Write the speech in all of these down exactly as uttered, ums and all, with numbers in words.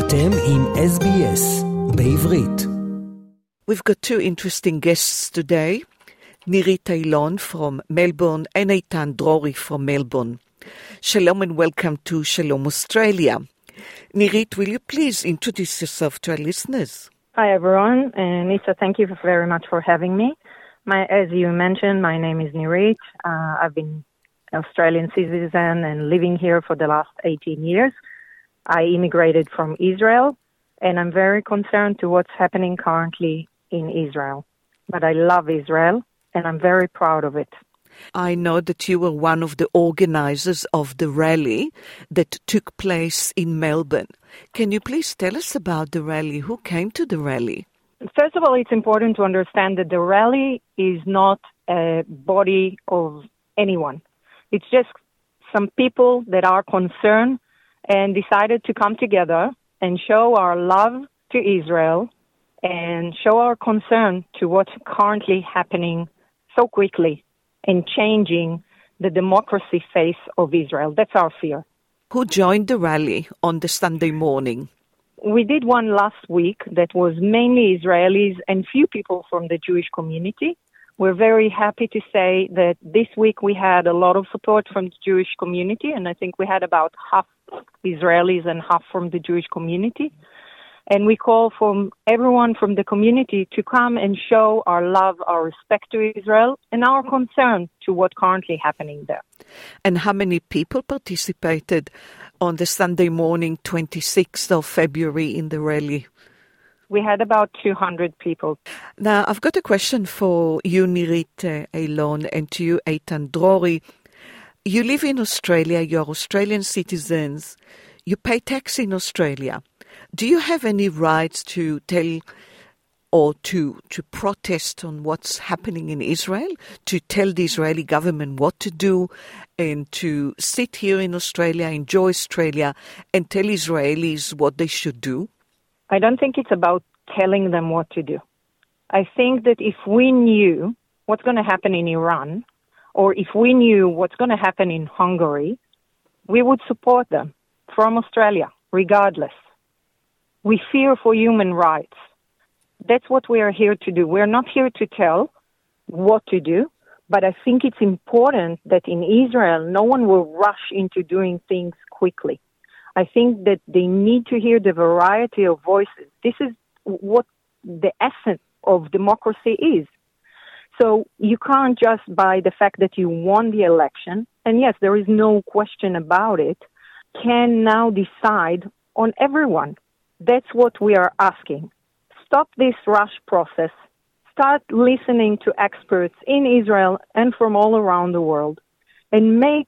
אתם עם S B S בעברית. We've got two interesting guests today, Nirit Eilon from Melbourne and Eitan Drori from Melbourne. Shalom and welcome to Shalom Australia. Nirit, will you please introduce yourself to our listeners? Hi everyone, and Nisa, thank you very much for having me. My, as you mentioned, my name is Nirit. Uh, I've been an Australian citizen and living here for the last eighteen years. I immigrated from Israel, and I'm very concerned to what's happening currently in Israel. But I love Israel, and I'm very proud of it. I know that you were one of the organizers of the rally that took place in Melbourne. Can you please tell us about the rally? Who came to the rally? First of all, it's important to understand that the rally is not a body of anyone. It's just some people that are concerned and decided to come together and show our love to Israel and show our concern to what's currently happening so quickly and changing the democracy face of Israel. That's our fear. Who joined the rally on the Sunday morning? We did one last week that was mainly Israelis and few people from the Jewish community. We're very happy to say that this week we had a lot of support from the Jewish community, and I think we had about half Israelis and half from the Jewish community. And we call from everyone from the community to come and show our love, our respect to Israel, and our concern to what's currently happening there. And how many people participated on the Sunday morning, twenty-sixth of February, in the rally? We had about two hundred people. Now, I've got a question for you, Nirit Eilon, and to you, Eitan Drori. You live in Australia, you're Australian citizens, you pay tax in Australia. Do you have any rights to tell or to, to protest on what's happening in Israel, to tell the Israeli government what to do, and to sit here in Australia, enjoy Australia, and tell Israelis what they should do? I don't think it's about telling them what to do. I think that if we knew what's going to happen in Iran, or if we knew what's going to happen in Hungary, we would support them from Australia, regardless. We fear for human rights. That's what we are here to do. We're not here to tell what to do, but I think it's important that in Israel, no one will rush into doing things quickly. I think that they need to hear the variety of voices. This is what the essence of democracy is. So you can't just, by the fact that you won the election, and yes, there is no question about it, can now decide on everyone. That's what we are asking. Stop this rush process. Start listening to experts in Israel and from all around the world and make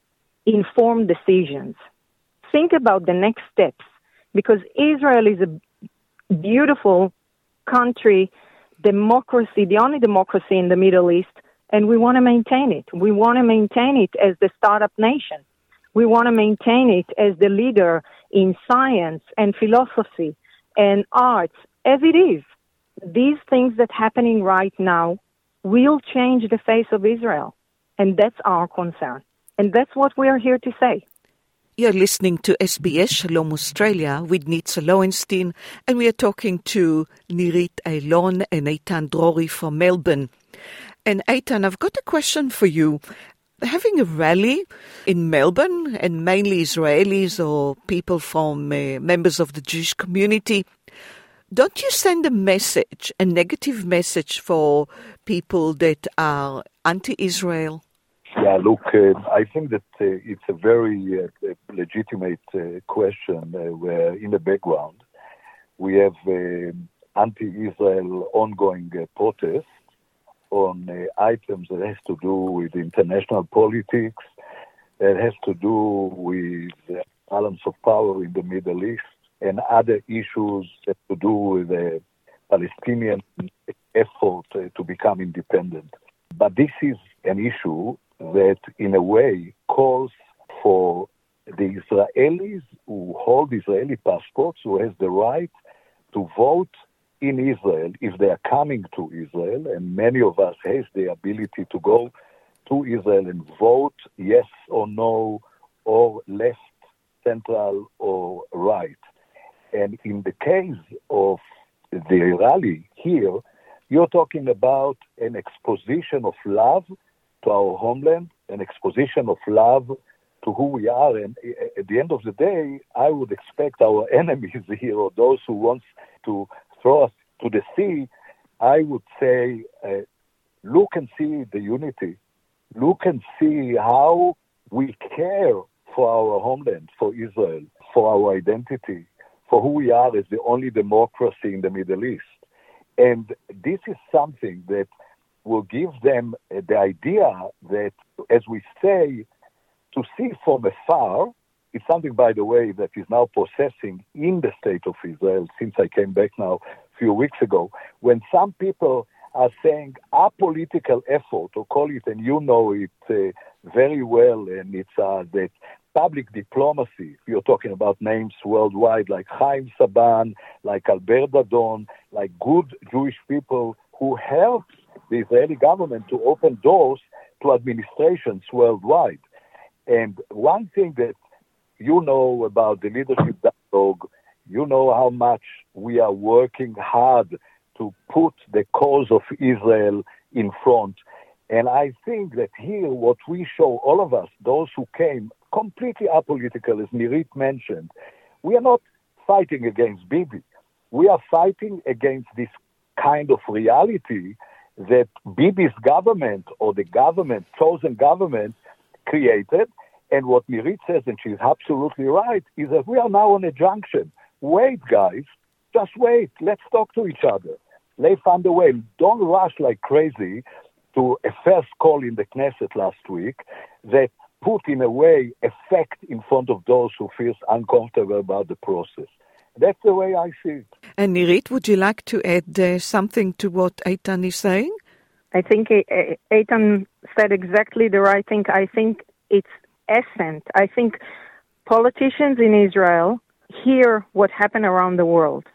informed decisions. Think about the next steps, because Israel is a beautiful country, democracy, the only democracy in the Middle East, and we want to maintain it. We want to maintain it as the startup nation. We want to maintain it as the leader in science and philosophy and arts, as it is. These things that are happening right now will change the face of Israel, and that's our concern. And that's what we are here to say. You're listening to S B S Shalom Australia with Nitza Lowenstein, and we are talking to Nirit Eilon and Eitan Drori from Melbourne. And Eitan, I've got a question for you. Having a rally in Melbourne, and mainly Israelis or people from uh, members of the Jewish community, don't you send a message, a negative message for people that are anti-Israel? Yeah, look, uh, I think that uh, it's a very uh, legitimate uh, question uh, where in the background we have uh, anti-Israel ongoing uh, protests on uh, items that has to do with international politics, that has to do with the balance of power in the Middle East, and other issues that have to do with the Palestinian effort uh, to become independent. But this is an issue that, in a way, calls for the Israelis who hold Israeli passports, who has the right to vote in Israel if they are coming to Israel, and many of us has the ability to go to Israel and vote yes or no, or left, central, or right. And in the case of the rally here, you're talking about an exposition of love to our homeland, an exposition of love to who we are. And at the end of the day, I would expect our enemies here, or those who want to throw us to the sea, I would say, uh, look and see the unity. Look and see how we care for our homeland, for Israel, for our identity, for who we are as the only democracy in the Middle East. And this is something that will give them uh, the idea that, as we say, to see from afar, it's something, by the way, that is now processing in the state of Israel since I came back now a few weeks ago, when some people are saying a political effort, or call it, and you know it uh, very well, and it's uh, that public diplomacy. You're talking about names worldwide like Chaim Saban, like Albert Dadon, like good Jewish people who helped the Israeli government to open doors to administrations worldwide. And one thing that you know about the leadership dialogue, you know how much we are working hard to put the cause of Israel in front. And I think that here what we show, all of us, those who came completely apolitical, as Nirit mentioned, we are not fighting against Bibi. We are fighting against this kind of reality that Bibi's government, or the government, chosen government, created. And what Nirit says, and she's absolutely right, is that we are now on a junction. Wait, guys, just wait. Let's talk to each other. Let's find a way. Don't rush like crazy to a first call in the Knesset last week that put, in a way, effect in front of those who feel uncomfortable about the process. That's the way I see it. And Nirit, would you like to add uh, something to what Eitan is saying? I think Eitan said exactly the right thing. I think it's essence. I think politicians in Israel hear what happened around the world,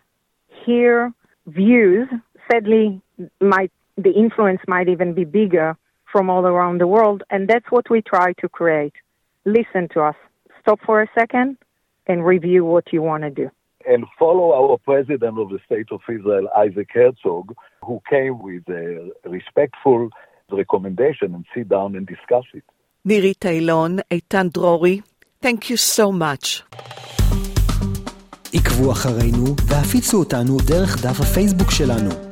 hear views. Sadly, might the influence might even be bigger from all around the world, and that's what we try to create. Listen to us. Stop for a second and review what you want to do. And follow our president of the State of Israel, Isaac Herzog, who came with a respectful recommendation and sit down and discuss it. Nirit Eilon, Eitan Drori, thank you so much. עקבו אחרינו והפיצו אותנו דרך דף הפייסבוק שלנו.